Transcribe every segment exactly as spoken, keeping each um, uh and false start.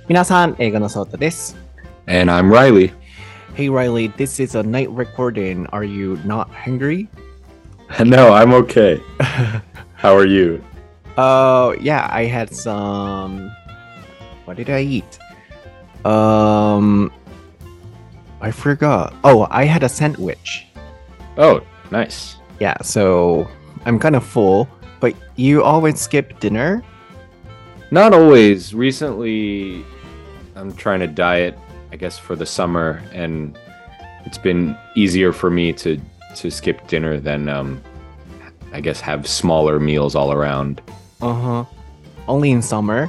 皆さん、英語のソータです。 And I'm Riley. Hey Riley, this is a night recording. Are you not hungry? No, I'm okay. How are you? Oh, yeah, I had some. What did I eat? Um, I forgot. Oh, I had a sandwich. Oh, nice. Yeah, so I'm kind of full, but you always skip dinner? Not always. Recently, I'm trying to diet, I guess, for the summer, and it's been easier for me to to skip dinner than, um, I guess, have smaller meals all around. Uh-huh. Only in summer?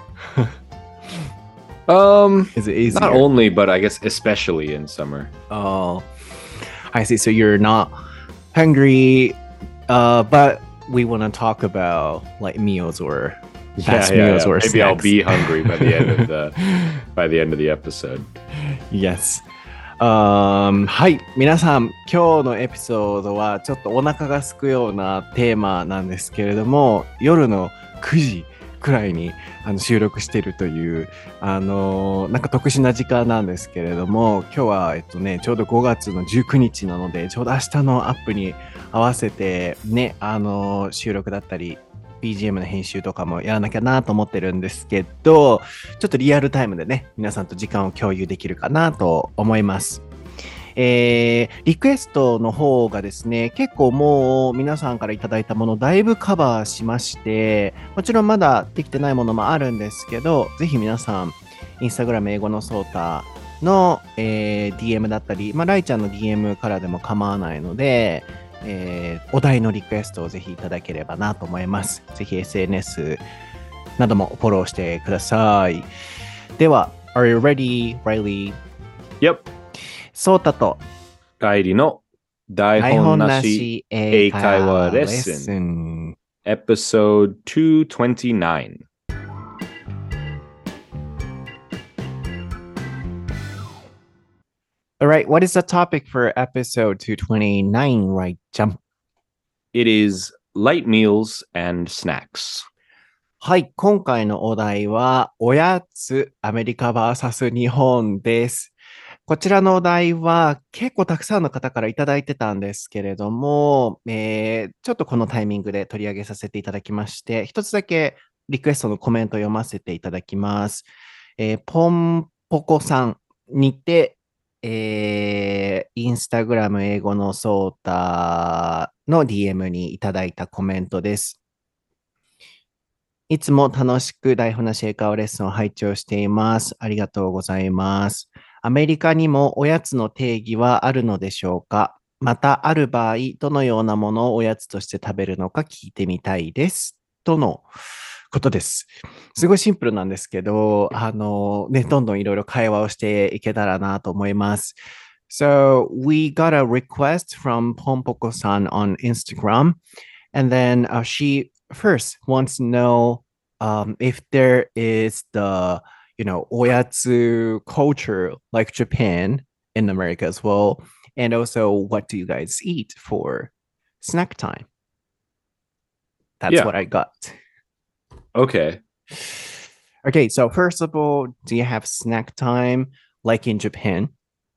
Um, Is it easier? Not only, but I guess especially in summer. Oh, I see. So you're not hungry, uh, but we want to talk about like meals or fast yeah, yeah, meals yeah. or Maybe I'll snacks. be hungry by the end of the by the end of the episode. Yes. Um, はい。皆さん、今日のエピソードはちょっとお腹が空くようなテーマなんですけれども、夜のくじくらいにあの収録しているという、あのーなんか特殊な時間なんですけれども、今日は、えっとね、ちょうどごがつのじゅうくにちなので、ちょうど明日のアップに合わせて、ね、あのー収録だったり、ビージーエム の編集とかもやらなきゃなと思ってるんですけど、ちょっとリアルタイムでね、皆さんと時間を共有できるかなと思います。えー、リクエストの方がですね、結構もう皆さんからいただいたものだいぶカバーしまして、もちろんまだできてないものもあるんですけど、ぜひ皆さん、インスタグラム英語のソータの、えー、ディーエム だったり、まあ、ライちゃんの ディーエム からでも構わないので、えー、お題のリクエストをぜひいただければなと思います。ぜひ エスエヌエス などもフォローしてください。では、Are you ready, Riley? Yep. ソータと帰りの台台本な本なしし英会話レッスレッスン。 Episode two twenty-nine. All right, what is the topic for episode two twenty-nine, right, Jump? It is light meals and snacks. はい、今回のお題は、おやつ、アメリカ ブイエス 日本です。こちらのお題は結構たくさんの方からいただいてたんですけれども、えーちょっとこのタイミングで取り上げさせていただきまして、一つだけリクエストのコメントを読ませていただきます。えーポンポコさんにて、えーインスタグラム英語のソータの ディーエム にいただいたコメントです。いつも楽しく台本なし英会話レッスンを拝聴しています。ありがとうございます。アメリカにもおやつの定義はあるのでしょうか？またある場合、どのようなものをおやつとして食べるのか聞いてみたいです。とのことです。すごいシンプルなんですけど、あの、ね、どんどんいろいろ会話をしていけたらなと思います。So, we got a request from Pompoko-san on Instagram, and then uh, she first wants to know um, if there is the, you know, oyatsu culture like Japan in America as well. And also, what do you guys eat for snack time? That's Yeah. what I got. Okay. Okay, so first of all, do you have snack time like in Japan?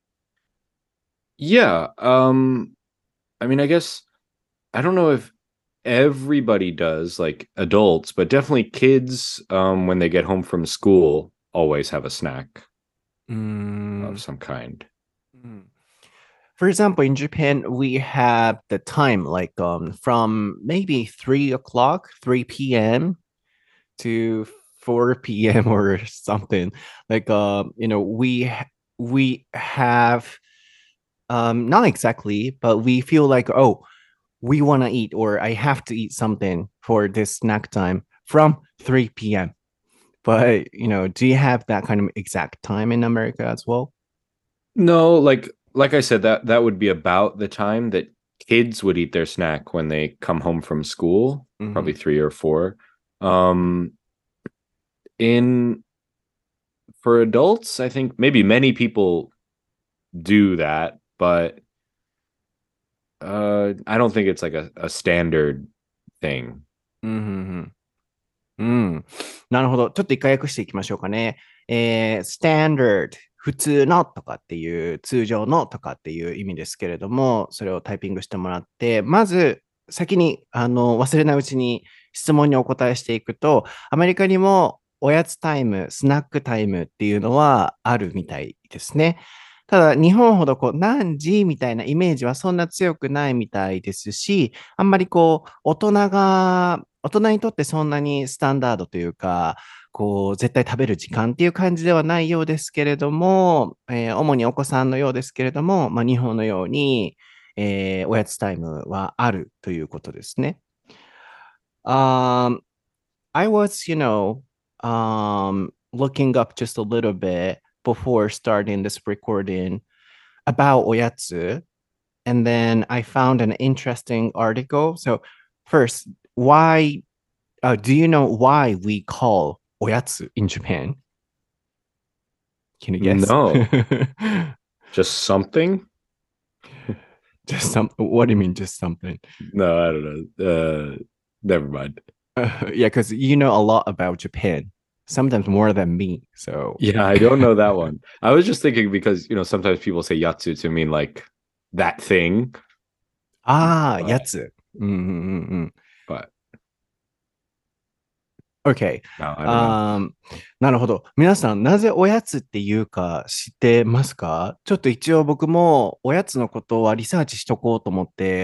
Yeah. Um, I mean, I guess I don't know if everybody does, like adults, but definitely kids, um, when they get home from school, always have a snack Mm, of some kind. mm. For example, in Japan, we have the time like um from maybe three o'clock, three p m to four p m or something. Like um, you know, we ha- we have um not exactly, but we feel like oh, we want to eat or I have to eat something for this snack time from three p m. But you know, do you have that kind of exact time in America as well? No, like like I said, that that would be about the time that kids would eat their snack when they come home from school, Mhm. probably three or four. Um, in for adults, I think maybe many people do that, but uh, I don't think it's like a, a standard thing. うんうんうん。うん。なるほど。ちょっと一回訳していきましょうかね。 えー、standard、普通のとかっていう、通常のとかっていう意味ですけれども、それをタイピングしてもらって、まず先にあの忘れないうちに質問にお答えしていくと、アメリカにもおやつタイム、スナックタイムっていうのはあるみたいですね。ただ、日本ほどこう何時みたいなイメージはそんな強くないみたいですし、あんまりこう、大人が、大人にとってそんなにスタンダードというか、こう、絶対食べる時間っていう感じではないようですけれども、えー主にお子さんのようですけれども、まあ、日本のように、えーおやつタイムはあるということですね。Um, I was, you know, um, looking up just a little bit before starting this recording about oyatsu, and then I found an interesting article. So, first, why uh, do you know why we call oyatsu in Japan? Can you guess? No, just something. Just some. What do you mean, just something? No, I don't know. Uh, never mind. Uh, yeah, because you know a lot about Japan, sometimes more than me. So, Yeah, I don't know that one. I was just thinking because, you know, sometimes people say yatsu to mean like that thing, ああ、や but つ。うんうんうんうん。 but OK。 no, I don't know. あーなるほど。皆さん、なぜおやつっていうか知ってますか？ちょっと一応僕もおやつのことはリサーチしとこうと思って、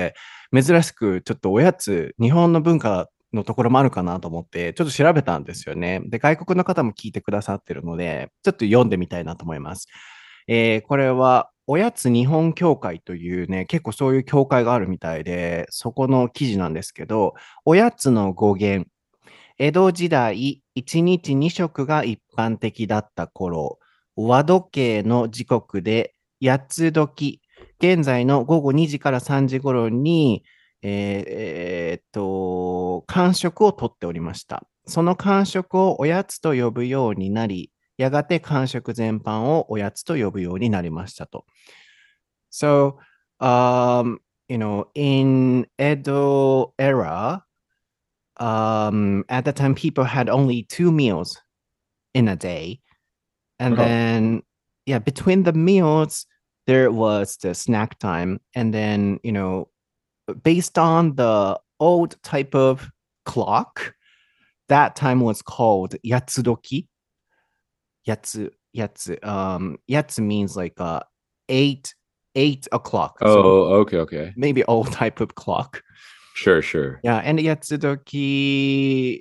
珍しくちょっとおやつ、日本の文化のところもあるかなと思って、ちょっと調べたんですよね。で、外国の方も聞いてくださってるので、ちょっと読んでみたいなと思います。えーこれは、おやつ日本協会というね、結構そういう協会があるみたいで、そこの記事なんですけど、おやつの語源、江戸時代、いちにちに食が一般的だった頃、和時計の時刻で八つ時、現在の午後にじからさんじ頃に、えーえーっと、間食をとっておりました。その間食をおやつと呼ぶようになり、やがて間食全般をおやつと呼ぶようになりましたと。So, um, you know, in Edo era, um, at the time, people had only two meals in a day. And Oh, then, yeah, between the meals, there was the snack time. And then, you know, based on the old type of clock, that time was called yatsudoki. Yatsu, yatsu. Um, yatsu means like uh, eight, eight o'clock. So oh, okay, okay. maybe old type of clock. Sure, sure. Yeah, and yatsudoki,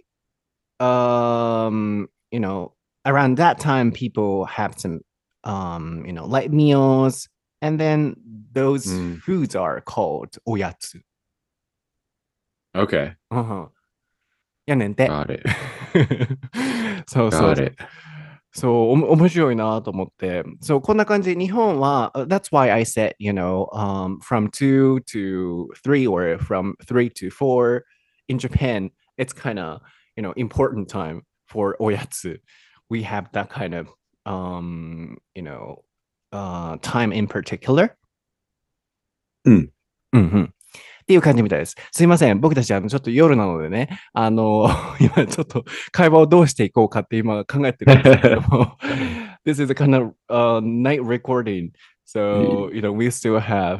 um, you know, around that time, people have some, um, you know, light meals, and then those Mm, foods are called oyatsu. okay. うんやねんて。 Got it. そうそう。 Got it. そう、おも面白いなと思って。そう、こんな感じで日本は、uh, that's why I said, you know, um, from two to three or from three to four in Japan, it's kind of, you know, important time for oyatsu. We have that kind of, um, you know, uh, time in particular. うん。 うんうん。っていう感じみたいです。すいません。僕たち、あの、ちょっと夜なのでね、あの、今ちょっと会話をどうしていこうかって今考えてるんですけれども、This is a kind of uh, night recording. So, you know, we still have,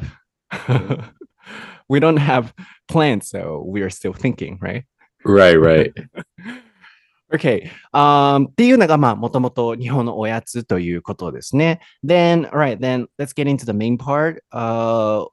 we don't have plans, so we are still thinking, right? Right, right. Okay. Um, っていうのが、まあ、もともと日本のおやつということですね。Then, alright, then let's get into the main part. Uh,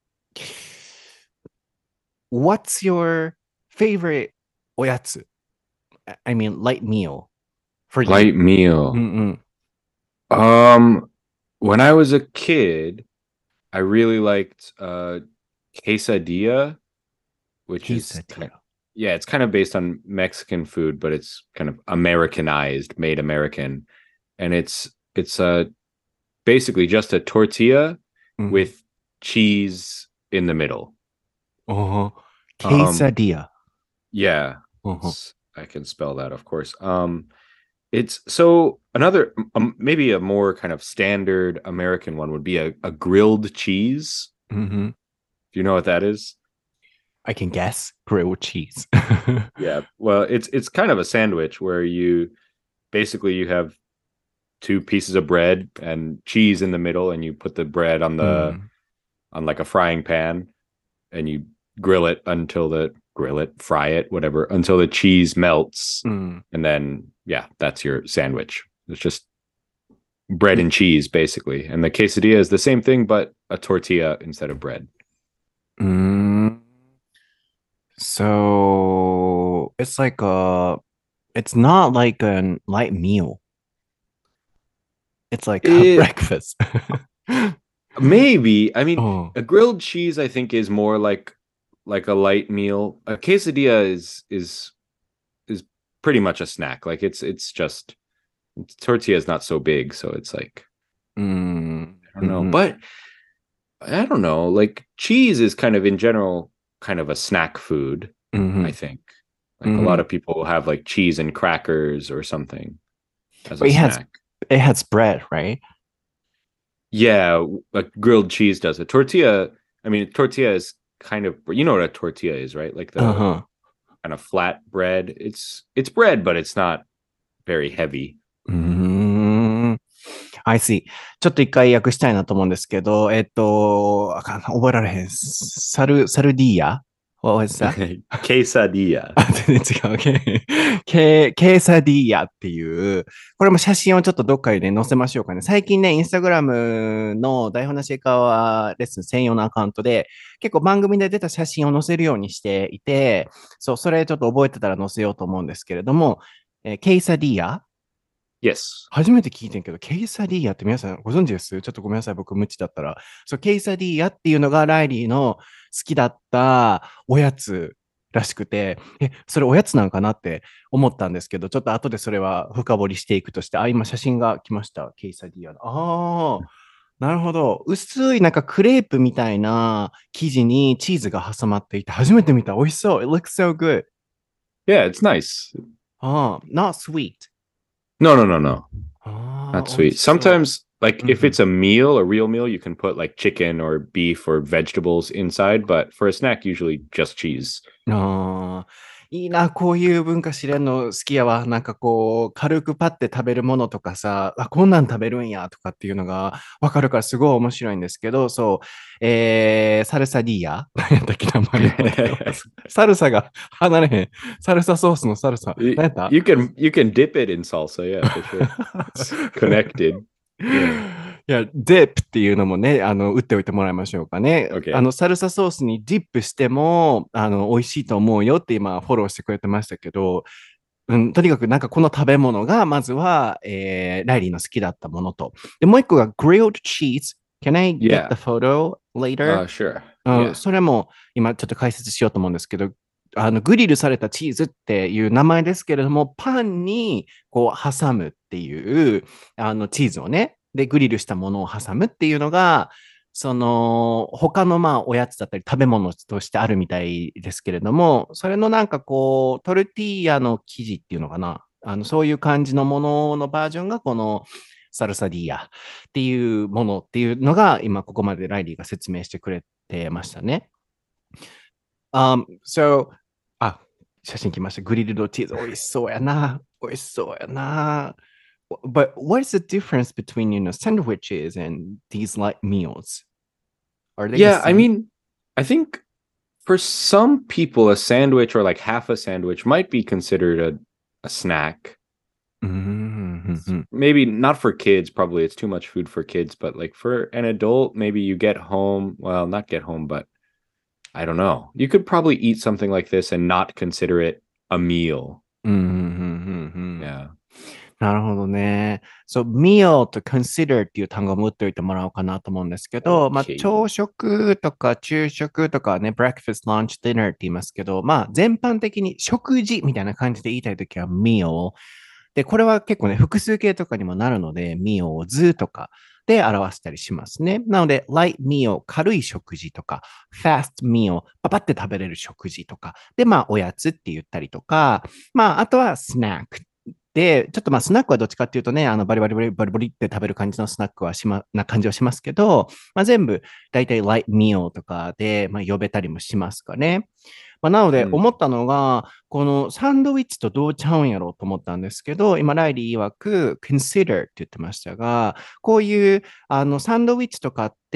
what's your favorite おやつ? I mean, light meal for you. Light meal. うんうん。 Um, when I was a kid, I really liked uh quesadilla, which is ki- Quesadilla. yeah, it's kind of based on Mexican food, but it's kind of Americanized, made American. And it's it's uh basically just a tortilla うん。 with cheese in the middle. おー Um, quesadilla. yeah, うんうん it's, I can spell that, of course. Um, it's so another um, maybe a more kind of standard American one would be a, a grilled cheese. うんうん Do you know what that is? I can guess. Grilled cheese. Yeah. Well, it's it's kind of a sandwich where you basically you have two pieces of bread and cheese in the middle, and you put the bread on the Mm. on like a frying pan, and you grill it until the grill it, fry it, whatever, until the cheese melts, Mm. and then yeah, that's your sandwich. It's just bread and cheese basically, and the quesadilla is the same thing but a tortilla instead of bread. Mm. So it's like a, it's not like a light meal. It's like a It, breakfast. maybe, I mean, Oh. a grilled cheese I think is more like like a light meal. A quesadilla is is is pretty much a snack. Like it's it's just tortilla is not so big, so it's like Mm. I don't know, Mhm. but I don't know. Like cheese is kind of in general kind of a snack food. I Mhm. think like a lot Mhm. of people will have like cheese and crackers or something as But a it has snack. it has bread, right? Yeah, like grilled cheese does. A tortilla, I mean, tortilla is kind of you know what a tortilla is, right? Like the Uh-huh. kind of flat bread. It's it's bread, but it's not very heavy. うーん。I see. ちょっと一回訳したいなと思うんですけど、えっと、あかん覚えられへん。サル、サルディーヤ What was that? Quesadilla. あ、全然違う。ケケケーサディーヤっていう、これも写真をちょっとどっかで載せましょうかね。最近ね、インスタグラムの台本なし英会話レッスン専用のアカウントで、結構番組で出た写真を載せるようにしていて、そう、それちょっと覚えてたら載せようと思うんですけれども、えーケイサディーヤ Yes. 初めて聞いてんけど、ケイサディーヤって皆さんご存知です？ちょっとごめんなさい、僕無知だったら。そう、ケイサディーヤっていうのがライリーの好きだったおやつらしくて、え、それおやつなんかなって思ったんですけど、ちょっと後でそれは深掘りしていくとして、あ、今写真が来ました。ケイサディーヤの。ああ、なるほど。薄いなんかクレープみたいな生地にチーズが挟まっていて、初めて見た。美味しそう。It looks so good. Yeah, it's nice. ああ、not sweet. No, no, no, no. あ Not あ、美味 sweet. しそ Sometimes, like, う。うんう if ん it's a meal, a real meal, you can put like chicken or beef or vegetables inside. But for a snack, usually just cheese. ああ、いいな、こういう文化知れんの好きやわ。なんかこう、軽くパッて食べるものとかさ、あ、こんなん食べるんやとかっていうのがわかるからすごい面白いんですけど、そう、えー、サルサディーヤ何やったっけ名前のサルサが離れへん。サルサソースのサルサ。何 you, やった you can you can dip it in salsa, yeah, for sure. It's connected. Yeah. いや、ディップっていうのもね、あの、打っておいてもらいましょうかね。 Okay. あの、サルサソースにディップしても、あの、美味しいと思うよって今、フォローしてくれてましたけど、うん、とにかくなんかこの食べ物が、まずは、えー、ライリーの好きだったものと。で、もう一個が grilled cheese. Can I get Yeah. the photo later? Uh, sure. うん、 Yeah. それも今ちょっと解説しようと思うんですけど、あの、グリルされたチーズっていう名前ですけれども、パンにこう挟むっていう、あの、チーズをね、で、グリルしたものを挟むっていうのが、その、他のまあ、おやつだったり食べ物としてあるみたいですけれども、それのなんかこう、トルティーヤの生地っていうのかな。あの、そういう感じのもののバージョンがこのサルサディーヤっていうものっていうのが今ここまでライリーが説明してくれてましたね。Um, so, あ、写真来ました。グリルドチーズ。美味しそうやな。美味しそうやな。But what is the difference between, you know, sandwiches and these light meals? Are they the Yeah, I same? mean, I think for some people, a sandwich or like half a sandwich might be considered a, a snack. うんうんうん Maybe not for kids, probably it's too much food for kids, but like for an adult, maybe you get home, well, not get home, but I don't know. You could probably eat something like this and not consider it a meal. うんうんうんうんうん Yeah. なるほどね。そう、meal と consider っていう単語も打っておいてもらおうかなと思うんですけど、まあ、 Okay. 朝食とか昼食とかね、breakfast, lunch, dinner って言いますけど、まあ、全般的に食事みたいな感じで言いたいときは meal。で、これは結構ね、複数形とかにもなるので、meal を図とかで表したりしますね。なので、light meal、軽い食事とか、fast meal、パパって食べれる食事とか、で、まあ、おやつって言ったりとか、まあ、あとは snack。 で、ちょっとまあスナックはどっちかっていうとね、あのバリバリバリバリバリって食べる感じのスナックはしま、な感じはしますけど、まあ、全部大体ライトミールとかで、まあ、呼べたりもしますかね。まあ、なので思ったのが、このサンドウィッチとどうちゃうんやろうと思ったんですけど、今、ライリー曰く consider って言ってましたが、こういうあのサンドウィッチとかって、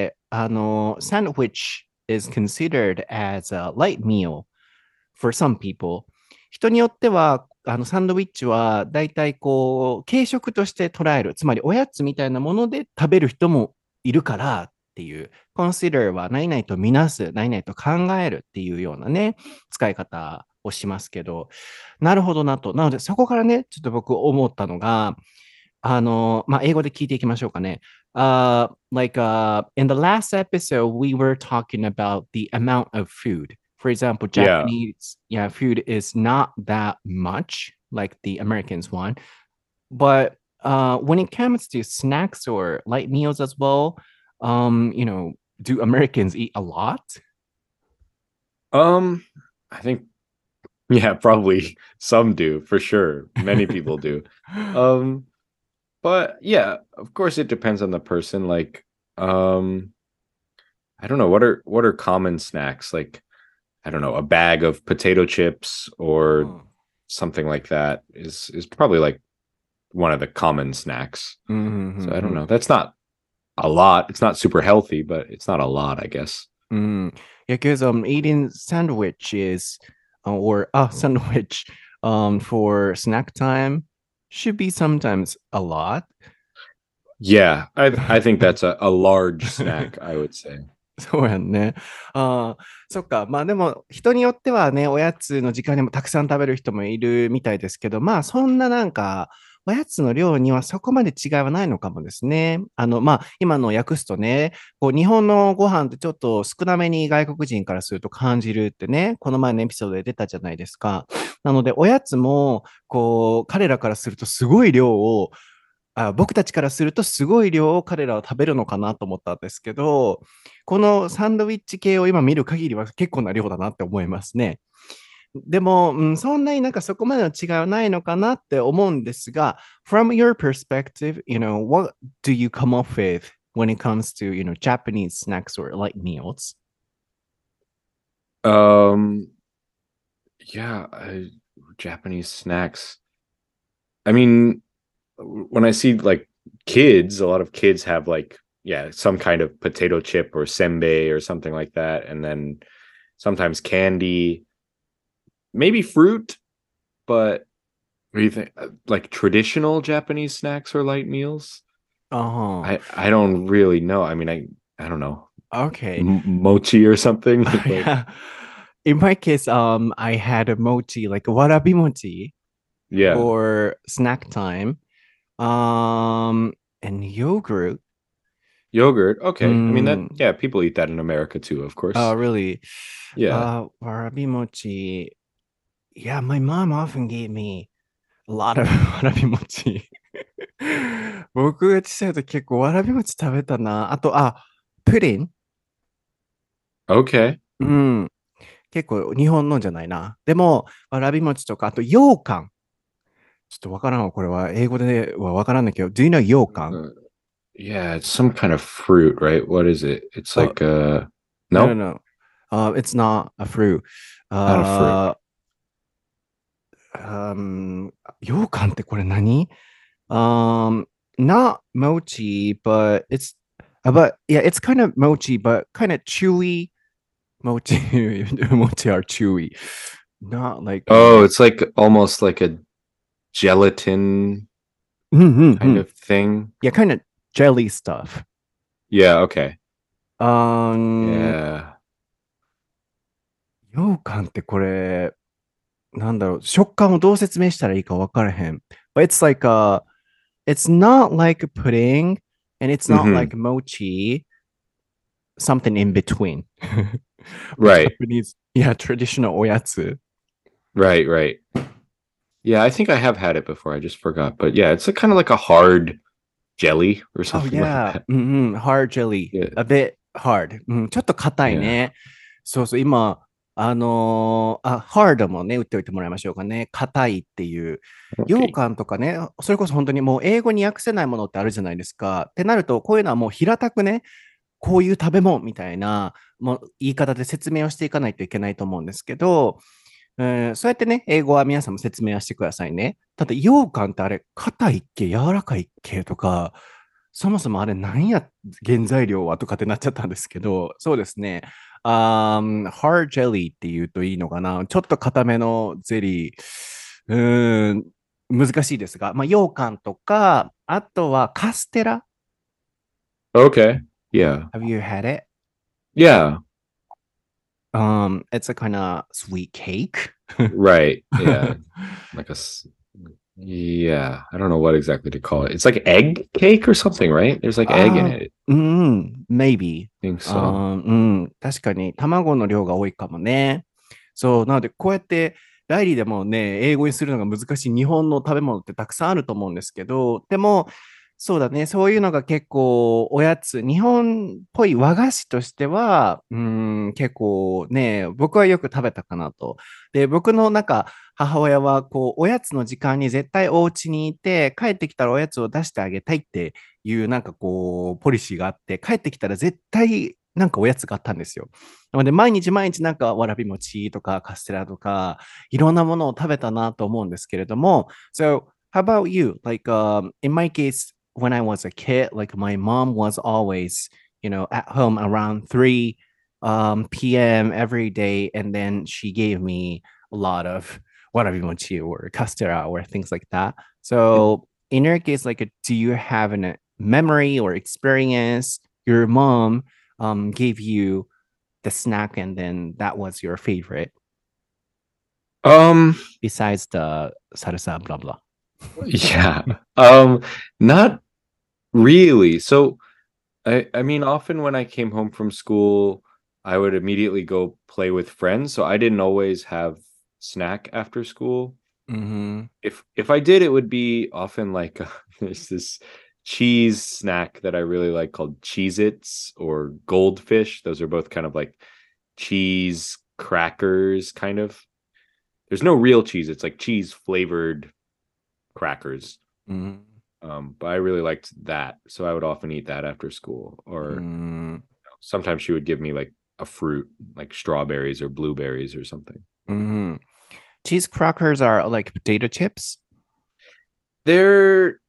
あの、sandwich is considered as a light meal for some people. 人によっては、あのサンドウィッチは大体こう、軽食として捉える、つまりおやつみたいなもので食べる人もいるからっていう、consider は何々とみなす、何々と考えるっていうようなね、使い方をしますけど、なるほどなと。なので、そこからね、ちょっと僕思ったのが、あの、まあ、英語で聞いていきましょうかね。Uh, like uh, in the last episode, we were talking about the amount of food. For example, Yeah. Japanese yeah, food is not that much like the Americans one. But uh, when it comes to snacks or light meals as well, um, you know, do Americans eat a lot? Um, I think yeah, probably some do for sure. Many people do. Um, but yeah, of course it depends on the person. Like, um, I don't know, what are what are common snacks? Like, I don't know, a bag of potato chips or Oh. something like that is is probably like one of the common snacks. So I don't know. That's not a lot. It's not super healthy, but it's not a lot, I guess. Mm. Yeah, because um eating sandwiches uh, or a sandwich um for snack time should be sometimes a lot. Yeah, I I think that's a, a large snack, I would say. そうやんね。ああ、そっか。まあでも、人によってはね、おやつの時間にもたくさん食べる人もいるみたいですけど、まあそんななんか、おやつの量にはそこまで違いはないのかもですね。あの、まあ今の訳すとね、こう日本のご飯ってちょっと少なめに外国人からすると感じるってね、この前のエピソードで出たじゃないですか。なので、おやつも、こう、彼らからするとすごい量をあ僕たちからするとすごい量を彼らは食べるのかなと思ったんですけど、このサンドウィッチ系を今見る限りは結構な量だなって思いますね。でも、うん、そんなになんかそこまでの違いはないのかなって思うんですが、from your perspective, you know, what do you come up with when it comes to, you know, Japanese snacks or light meals? Um, yeah, I, Japanese snacks. I mean, when I see like kids, a lot of kids have like, yeah, some kind of potato chip or senbei or something like that. And then sometimes candy, maybe fruit, but what do you think? Uh, Like traditional Japanese snacks or light meals? Uh-huh. I I don't really know. I mean, I I don't know. Okay. M- mochi or something. Like, Yeah. In my case, um, I had a mochi, like warabi mochi yeah, for snack time. Um, and yogurt. yogurt. Okay. I mean that. Mm, Yeah, people eat that in America too, of oh, course. really? Yeah. Uh, warabi mochi. Yeah, my mom often gave me a lot of わらび餅。僕が小さい時結構わらび餅食べたな。あと、あ、プリン。 Okay. うん。結構日本のじゃないな。でも、わらび餅とか、あと羊羹。ちょっとわからんわ。これは英語ではわからんだけど、Do you know 羊羹？ Uh, yeah, it's some kind of fruit, right? What is it? It's Uh, like uh no, no, no, no. Uh, it's not a fruit. not a fruit. Uh, um, 羊羹ってこれ何？ Um, not mochi, but it's, uh, but yeah, it's kind of mochi, but kind of chewy. Mochi, mochi are chewy. Not like, Oh, um, it's like almost like a gelatin kind mm-hmm. of thing. Yeah, kind of jelly stuff. Yeah, okay. Um, Yeah. 羊羹ってこれ、なんだろう、食感をどう説明したらいいか分からへん。But it's like a, it's not like a pudding, and it's not hmm like mochi, something in between. Right. Japanese, yeah, traditional おやつ。 Right, right. Yeah, I think I have had it before. I just forgot. But yeah, it's a kind of like a hard jelly or Oh, something like yeah. that. うんうん。hard jelly. Yeah. A bit hard. うん、ちょっと硬い Yeah. ね。そうそう、今、 あのーあ、ハードもね、打っておいてもらいましょうかね。硬いっていう。羊 Okay. 羹とかね、それこそ本当にもう英語に訳せないものってあるじゃないですか。ってなると、こういうのはもう平たくね、こういう食べ物みたいな、もう言い方で説明をしていかないといけないと思うんですけど、えーそうやってね、英語は皆さんも説明はしてくださいね。ただ、羊羹ってあれ、硬いっけ、柔らかいっけとか、そもそもあれ何や、原材料はとかってなっちゃったんですけど、そうですね。あー hard jelly って言うといいのかな。ちょっと硬めのゼリー。うーん、難しいですが、まあ、羊羹とか、あとはカステラ。 Okay. Yeah. Have you had it? Yeah. Um, it's a kind of sweet cake. Right. Yeah. Like a s- yeah. I don't know what exactly to call it. It's like egg cake or something, right? There's like egg in Ah, it. うん、maybe. I think あ so. ー、うん、確かに卵の量が多いかもね。そう、なのでこうやってライリーでもね、英語にするのが難しい日本の食べ物ってたくさんあると思うんですけど、でも、そうだね、そういうのが結構おやつ、日本っぽい和菓子としては、うん、結構ね、僕はよく食べたかなと。で、僕のなんか母親はこう、おやつの時間に絶対お家にいて、帰ってきたらおやつを出してあげたいっていうなんかこう、ポリシーがあって、帰ってきたら絶対なんかおやつがあったんですよ。なので、毎日毎日なんかわらび餅とかカステラとか、いろんなものを食べたなと思うんですけれども、So, how about you? Like, um, in my case, when I was a kid, like my mom was always, you know, at home around three um, p m every day, and then she gave me a lot of warabimochi or castera or things like that. So, in your case, like, do you have an, a memory or experience your mom um, gave you the snack and then that was your favorite Um, besides the salsa, blah, blah? yeah. Um, not really. So I I mean often when I came home from school, I would immediately go play with friends, so I didn't always have snack after school. Mm-hmm. If if I did, it would be often like uh, there's this cheese snack that I really like called Cheez-Its or Goldfish. Those are both kind of like cheese crackers, kind of. There's no real cheese. It's like cheese flavored crackers. Mm-hmm. Um, but I really liked that, so I would often eat that after school. Or Mm-hmm. sometimes she would give me like a fruit, like strawberries or blueberries or something. Mm-hmm. Cheese crackers are like potato chips. They're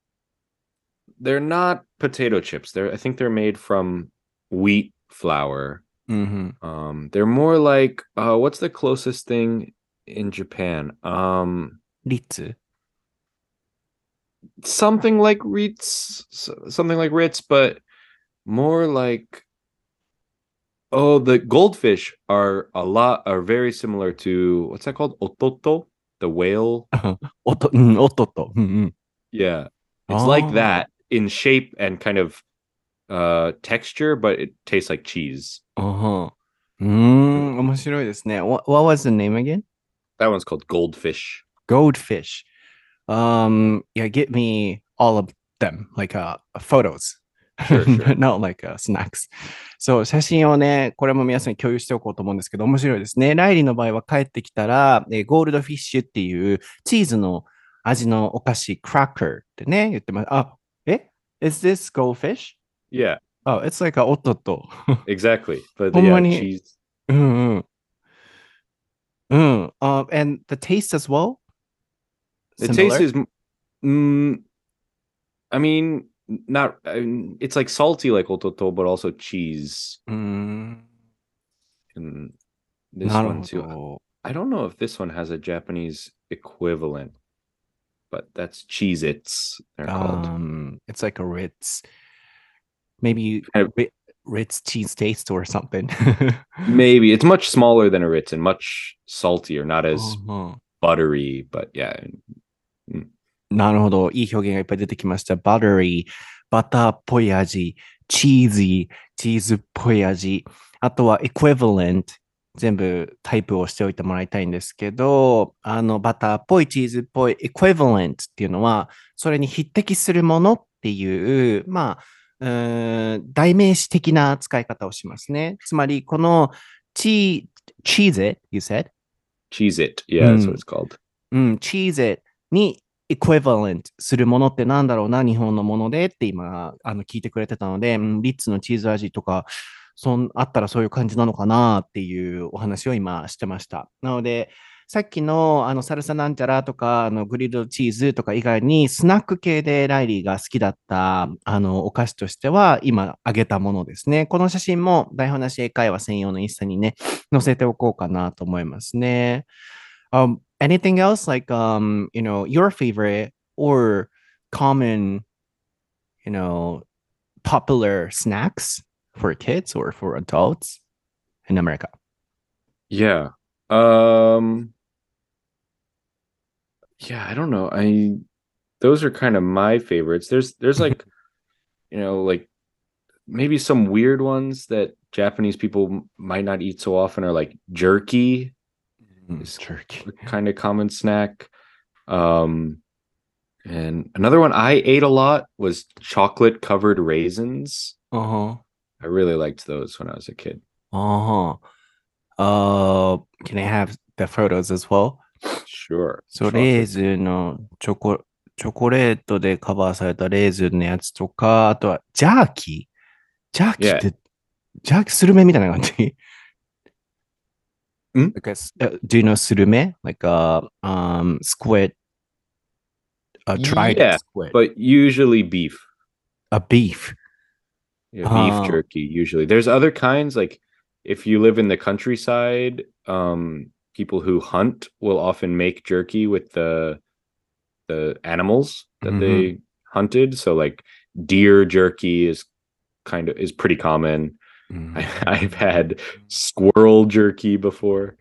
they're not potato chips. They're I think they're made from wheat flour. Mm-hmm. Um, they're more like uh, what's the closest thing in Japan? Um, Ritz. something like Ritz, something like Ritz, but more like oh, the goldfish are a lot are very similar to what's that called? Ototo, the whale. おと、うん、おっとっと。うんうん。 Yeah, it's like あ that in shape and kind of uh texture, but it tastes like cheese. あ、ああ。うーん、面白いですね。What, what was the name again? That one's called goldfish. Goldfish. Um, yeah, get me all of them, like uh, photos, Sure, sure. not like uh, snacks. そう、写真をね、これも皆さんに共有しておこうと思うんですけど、面白いですね。ライリーの場合は帰ってきたら、えーゴールドフィッシュっていうチーズの味のお菓子、クラッカーってね、言ってます。あ、え ?Is this goldfish? Yeah, Oh, it's like a おっとっと。 exactly. But ほんま yeah, に、 cheese. うんうん。うん。Um, and the taste as well? The taste Similar? is, mm, I mean, not. I mean, it's like salty like ototo, but also cheese. うーん。 And this なる one ほ too. ど。 I don't know if this one has a Japanese equivalent, but that's Cheez-Its, they're called. Um, it's like a Ritz, maybe Kind of- Ri- Ritz cheese taste or something. maybe it's much smaller than a Ritz and much saltier, not as うんうん buttery, but yeah. Mm. なるほど。いい表現がいっぱい出てきました。バタリー、バターっぽい味、チーズー、チーズっぽい味。あとは equivalent。全部タイプをしておいてもらいたいんですけど、あの、バターっぽいチーズっぽい equivalent っていうのは、それに匹敵するものっていう、まあ、うーん代名詞的な使い方をしますね。つまり、このチ cheese it, you said? Cheese It. う Yeah, that's what ん。 it's called. うん、cheese it に equivalent するものってなんだろうな、日本のものでって今、あの、聞いてくれてたので、うん、リッツのチーズ味とか、そん、あったらそういう感じなのかなっていうお話を今してました。なので、さっきのあのサルサなんちゃらとか、あのグリルドチーズとか以外に、スナック系でライリーが好きだったあのお菓子としては、今挙げたものですね。この写真も台本なし英会話専用のインスタにね、載せておこうかなと思いますね。Um, anything else like um, you know, your favorite or common, you know, popular snacks for kids or for adults in America? Yeah. Um yeah, I don't know. I those are kind of my favorites. There's there's like, you know, like maybe some weird ones that Japanese people m- might not eat so often are like jerky Mm, is jerky. a kind of common snack. Um and another one I ate a lot was chocolate covered raisins. Uh-huh. I really liked those when I was a kid. Uh-huh. Uh, can I have the photos as well? Sure. そう、レー Chocolate. ズンのチョコ、チョコレートでカバーされたレーズンのやつとか、あとはジャーキージャーキーっ Yeah. て、ジャーキースルメみたいな感じん like a, s- uh, do you know スルメ like a um, squid, a dried Yeah, squid, but usually beef. a beef. Yeah, beef Uh, jerky usually. There's other kinds like if you live in the countryside, um people who hunt will often make jerky with the the animals that mhm, they hunted. So like deer jerky is kind of is pretty common. I, I've had squirrel jerky before.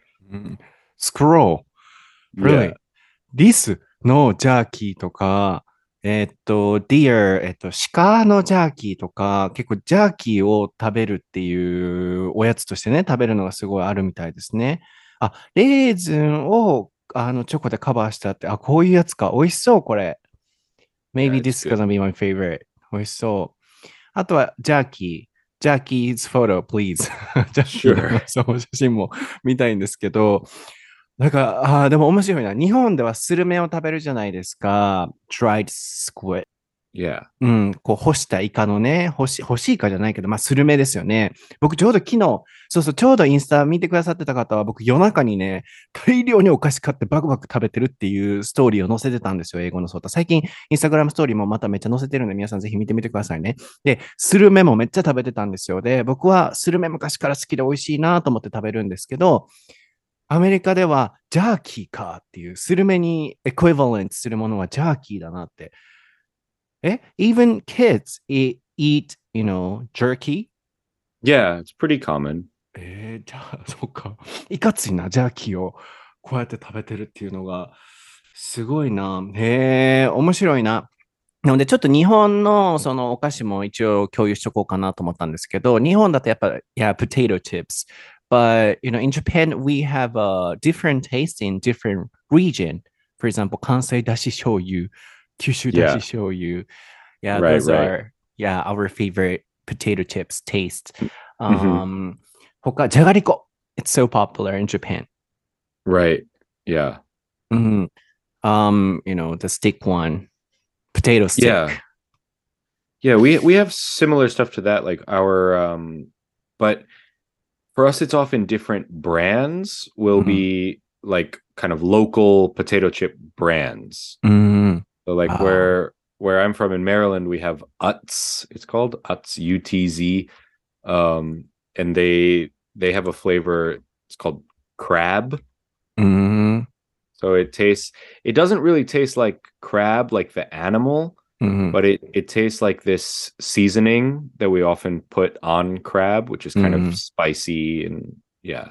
Scroll. Yeah. Really? リスのジャーキーとか、えーっと、deer、えーっと、鹿のジャーキーとか、結構ジャーキーを食べるっていうおやつとしてね、食べるのがすごいあるみたいですね。あ、レーズンをあのチョコでカバーしたって、あ、こういうやつか。美味しそう、これ。 Yeah, Maybe it's this is good. gonna be my favorite. 美味しそう。あとは、ジャーキー。ジャーキー 's photo, please. ジャーキー Sure. のその写真も見たいんですけど、なんか、あーでも面白いな。日本ではスルメを食べるじゃないですか。dried squid。 Yeah. うん、こう干したイカのね、干し、干しイカじゃないけど、まあ、スルメですよね。僕ちょうど昨日、そうそう、ちょうどインスタ見てくださってた方は、僕夜中にね、大量にお菓子買ってバクバク食べてるっていうストーリーを載せてたんですよ、英語のソータ。最近、インスタグラムストーリーもまためっちゃ載せてるんで、皆さんぜひ見てみてくださいね。で、スルメもめっちゃ食べてたんですよ。で、僕はスルメ昔から好きで美味しいなと思って食べるんですけど、アメリカではジャーキーかっていう、スルメにエクイバレントするものはジャーキーだなって。え even kids eat, eat, you know, jerky? Yeah, it's pretty common. えー、じゃあ、そっか。いかついな、ジャーキーをこうやって食べてるっていうのが、すごいな。へえ、面白いな。なので、ちょっと日本のそのお菓子も一応共有しとこうかなと思ったんですけど、日本だとやっぱ、yeah, potato chips. But, you know, in Japan, we have a different taste in different region. For example, 関西だし醤油、九州だし Yeah. 醤油. Yeah, Right, those right. are, yeah, our favorite potato chips taste. Hmm. Um, 他、じゃがりこ. It's so popular in Japan. Right. Yeah. Mhm. Um, you know, the stick one, potato stick. Yeah. Yeah, we we have similar stuff to that, like our um but for us it's often different brands will Mhm. be like kind of local potato chip brands. Mhm. So like Ah. where where I'm from in Maryland, we have Utz. It's called Utz U T Z. Um and they they have a flavor, it's called crab. Mhm. So it tastes it doesn't really taste like crab like the animal, Mhm. but it it tastes like this seasoning that we often put on crab, which is kind of Mhm. spicy and yeah,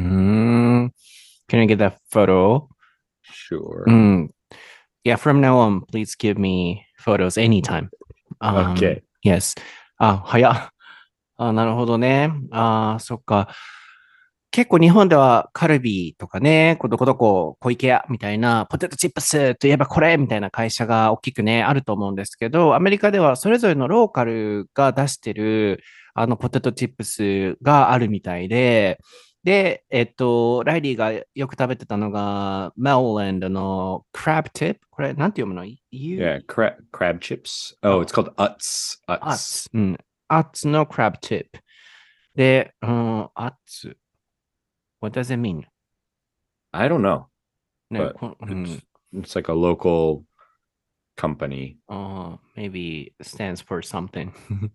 Mhm. Can I get that photo? sure. Mm. Yeah, from now on, please give me photos anytime. Um, Okay. yes. あ、早っ。あ、なるほどね。あ、そっか。結構日本ではカルビーとかね、こどこどこ、小池屋みたいな、ポテトチップスといえばこれみたいな会社が大きくね、あると思うんですけど、アメリカではそれぞれのローカルが出してる、あの、ポテトチップスがあるみたいで、 で、えっと、ライリーがよく食べてたのが、メルランドのクラブティップ。これ、なんて読むの？ You? Yeah, crab crab chips. Oh, it's あ、 called Utz. アッ Utz. ツ。うん。アッツのクラブティップ。で、うん、アッツ。What does it mean? I don't know, ね、 but こう it's ん、 it's like a local company. uh, maybe stands for something.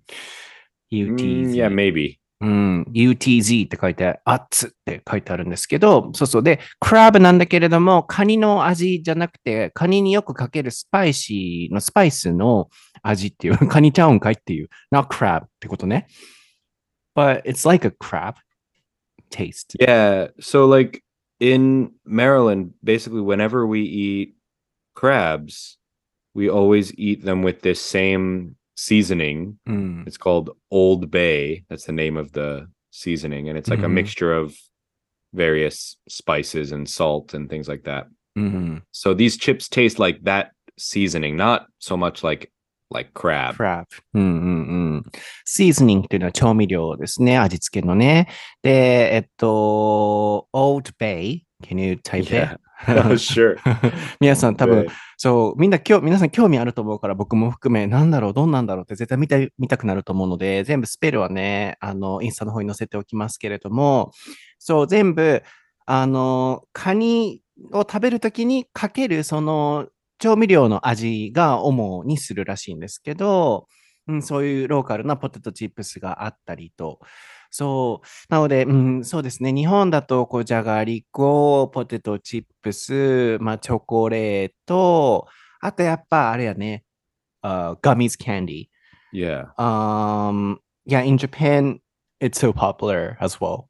Mm, yeah, ユーティーゼット。 maybe. うん、ユーティーゼット って書いて、アッツって書いてあるんですけど、そうそう。で、クラブなんだけれども、カニの味じゃなくて、カニによくかけるスパイシーのスパイスの味っていう、カニちゃうんかいっていう、not crab ってことね。But it's like a crab taste. Yeah, so like in Maryland, basically whenever we eat crabs, we always eat them with this same seasoning. うん。 It's called Old Bay. That's the name of the seasoning, and it's う like a ん。 mixture of various spices and salt and things like that. うん。 So these chips taste like that seasoning, not so much like like crab. crab。うんうんうん。シーズニングっていうのは調味料ですね。味付けのね。で、えっと、Old Bay。Can you type it? Yeah. Sure. 皆さん Old 多分、 Bay. そう、みんな今日、皆さん興味あると思うから、僕も含め、なんだろう、どんなんだろうって絶対見たい、見たくなると思うので、全部スペルはね、あの、インスタの方に載せておきますけれども、そう、全部、あの、カニを食べるときにかける、その、調味料の味が主にするらしいんですけど、うん、そういうローカルなポテトチップスがあったりと、そう。なので、うん、そうですね。日本だと、こう、じゃがりこ、ポテトチップス、まあ、チョコレート、あとやっぱ、あれやね、uh, gummies candy. Yeah. Um, yeah, in Japan, it's so popular as well.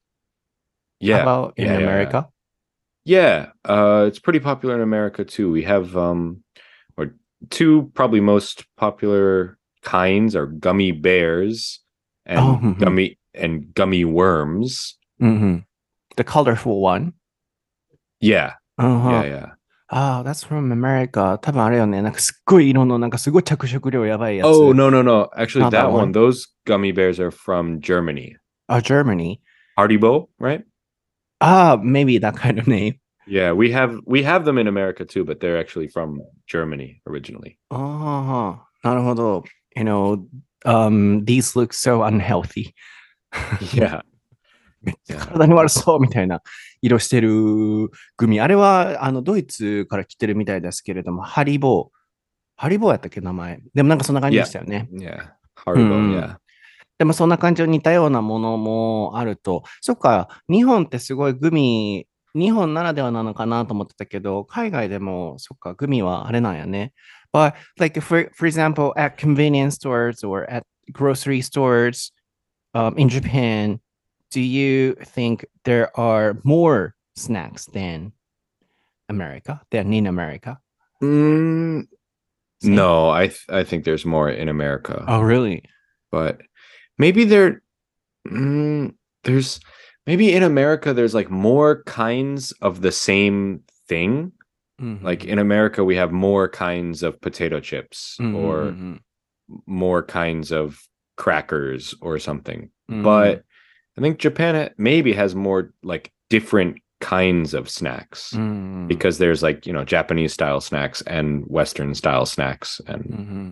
How Yeah. about in Yeah. Yeah. Yeah. America? Yeah. Uh, it's pretty popular in America too. We have um, or two probably most popular kinds are gummy bears Oh, and mhm, gummy and gummy worms. mhm. The colorful one. Yeah. Yeah. Uh-huh. Yeah. ああ、that's from America. 多分あれよね。なんかすっごい色の、なんかすごい着色料やばいや Oh つ。 no no no! Actually, Not that that one, one. those gummy bears are from Germany. Oh, Germany. Haribo, right? Ah, maybe that kind of name. Yeah, we have we have them in America too, but they're actually from Germany originally. ああ、なるほど。You know, um, these look so unhealthy. Yeah. めっちゃ Yeah. 体に悪そうみたいな色してるグミ。あれは、あの、ドイツから来てるみたいですけれども、ハリボー。ハリボーやったっけ、名前。でもなんかそんな感じで Yeah. したよね。 Yeah. うん Haribo, うん。 yeah. でもそんな感じの似たようなものもあると。そっか、日本ってすごいグミ、日本ならではなのかなと思ってたけど、海外でも、そっか、グミはあれなんやね。But, like, for, for example, at convenience stores or at grocery stores um, in Japan, do you think there are more snacks than America, than in America? Mm, Same? no, I th- I think there's more in America, Oh, really? but maybe there mm, there's maybe in America there's like more kinds of the same thing. Like Mm-hmm. in America we have more kinds of potato chips or Mm-hmm. more kinds of crackers or something. Mm-hmm. But I think Japan maybe has more like different kinds of snacks Mm-hmm. because there's like, you know, Japanese style snacks and Western style snacks and Mm-hmm.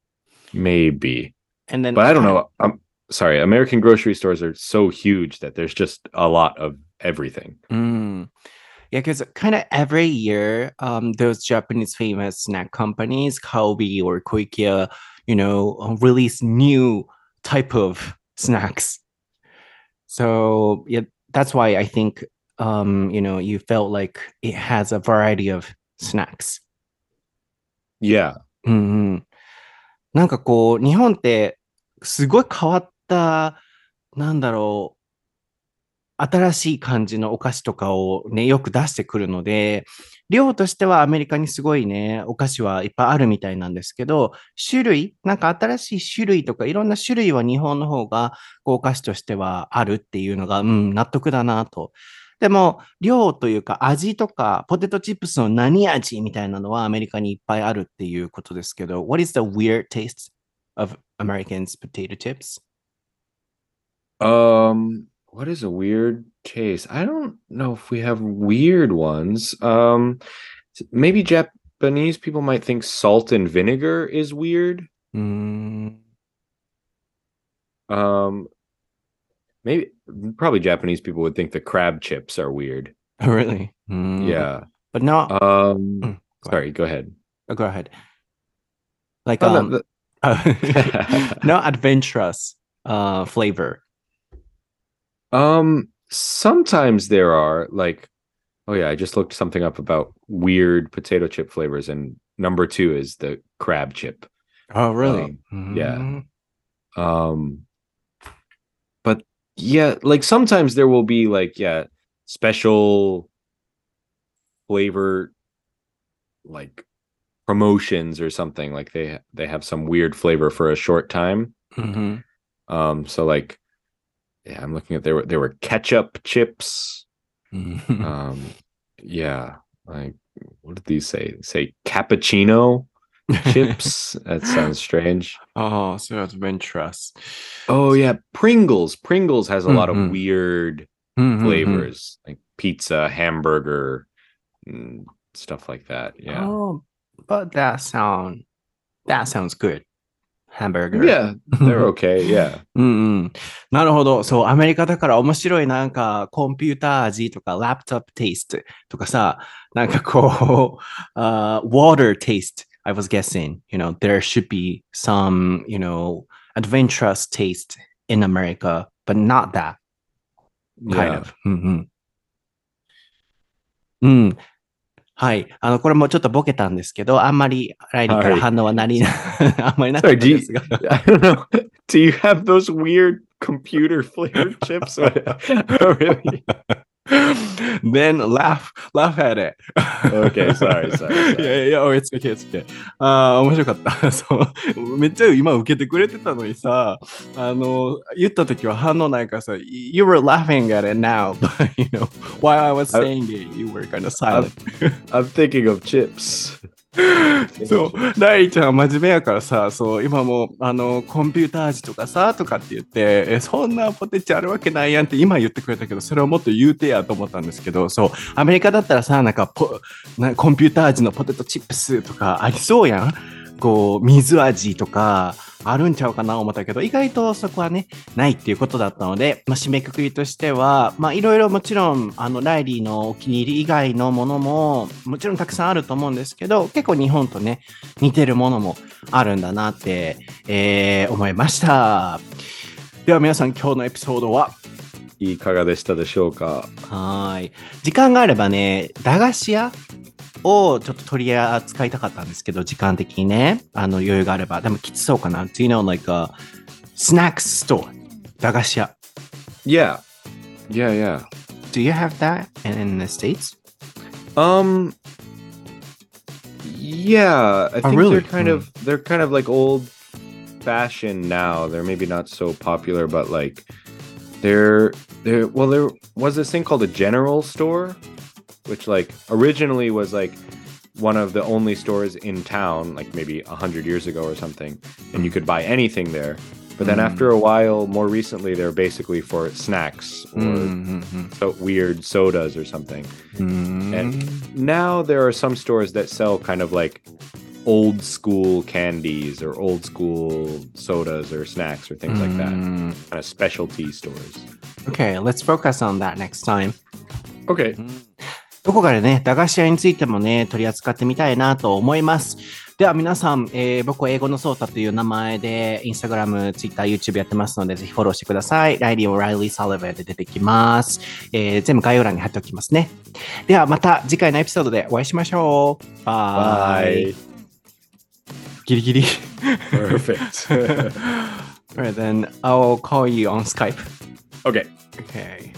maybe. And then But I don't kind know. I'm sorry. American grocery stores are so huge that there's just a lot of everything. Mm. Yeah, because kind of every year, um, those Japanese famous snack companies, Calbee or Koikia, you know, uh, release new type of snacks. So yeah, that's why I think, um, you know, you felt like it has a variety of snacks. Yeah. うんうん。なんかこう、日本ってすごい変わった、なんだろう、新しい感じのお菓子とかをね、よく出してくるので、量としてはアメリカにすごいね、お菓子はいっぱいあるみたいなんですけど、種類、なんか新しい種類とかいろんな種類は日本の方がこうお菓子としてはあるっていうのが、うん、納得だなと。でも、量というか味とか、ポテトチップスの何味みたいなのはアメリカにいっぱいあるっていうことですけど、What is the weird taste of Americans potato chips? Um what is a weird taste? I don't know if we have weird ones. Um, maybe Japanese people might think salt and vinegar is weird. うーん。 Um, maybe probably Japanese people would think the crab chips are weird. Really? うーん。 Yeah. But not, Um, うん、go ahead. sorry, go ahead. Oh, go ahead. Like, Oh, no, um, the- no adventurous uh, flavor. um, sometimes there are like, oh yeah, I just looked something up about weird potato chip flavors, and number two is the crab chip. Oh, really? Um, yeah. うーん Um, but yeah, like sometimes there will be like, yeah, special flavor like promotions or something, like they they have some weird flavor for a short time. うんうん Um, so like, yeah, I'm looking at there were there were ketchup chips. うんうん Um, yeah, like what did these say? Say cappuccino chips. That sounds strange. Oh, so adventurous. Oh yeah, Pringles. Pringles has a lot of Mhm. weird うんうんうん flavors, like pizza, hamburger, and stuff like that. Yeah. Oh, but that sound that sounds good. Hamburger. Yeah, they're okay. Yeah. うんうん。なるほど。そう、アメリカだから面白いなんかコンピューター味とか、ラップトップテイストとかさ、なんかこう、uh, water taste. I was guessing, you know, there should be some, you know, adventurous taste in America, but not that kind Yeah. of. うんうん。うん。はい。あの、これもちょっとボケたんですけど、あんまりライリーから反応はなり、あんまりなかっ Sorry, た do you, ですが。 I don't know. Do you have those weird computer flavored chips? Oh, really? Then laugh, laugh at it. Okay, sorry, sorry, sorry. いやいや、oh, it's okay, it's okay. ああ、面白かった。そう。めっちゃ今受けてくれてたのにさ、あの、言った時は反応ないからさ、you were laughing at it now, but you know, while I was saying it, you were kind of silent. I'm thinking of chips. そう、ライリーちゃんは真面目やからさ、そう、今もあのコンピューター味とかさとかって言って、え、そんなポテチあるわけないやんって今言ってくれたけど、それをもっと言うてやと思ったんですけど、そう、アメリカだったらさ、なんかポなコンピューター味のポテトチップスとかありそうやん。こう、水味とかあるんちゃうかな思ったけど、意外とそこはね、ないっていうことだったので、まあ、締めくくりとしては、まあ、いろいろもちろん、あの、ライリーのお気に入り以外のものも、もちろんたくさんあると思うんですけど、結構日本とね、似てるものもあるんだなって、えー、思いました。では皆さん、今日のエピソードはいかがでしたでしょうか？ はい。時間があればね、駄菓子屋をちょっと取り扱いたかったんですけど、時間的にね、あの余裕があれば。でもきつそうかな。Do you know like a snack store? 駄菓子屋。 Yeah. Yeah, yeah. Do you have that in the States? Um Yeah, I think really? they're kind of they're kind of like old fashioned now. They're maybe not so popular, but like they're there well there was this thing called a general store, which like originally was like one of the only stores in town, like maybe a hundred years ago or something, and you could buy anything there. But then Mm. after a while, more recently, they're basically for snacks or Mm-hmm. so weird sodas or something. Mm-hmm. And now there are some stores that sell kind of like old school candies or old school sodas or snacks or things like that. Mm. Kind of specialty stores. Okay, let's focus on that next time. Okay. どこかでね、駄菓子屋についてもね、取り扱ってみたいなと思います。では皆さん、えー僕は英語のソータという名前で、インスタグラム、ツイッター、YouTube やってますので、ぜひフォローしてください。ライリー・オライリー・サリバーで出てきます、えー。全部概要欄に貼っておきますね。ではまた次回のエピソードでお会いしましょう。バイ。 Bye. ギリギリ。 Perfect. Alright, then I'll call you on Skype. Okay. Okay.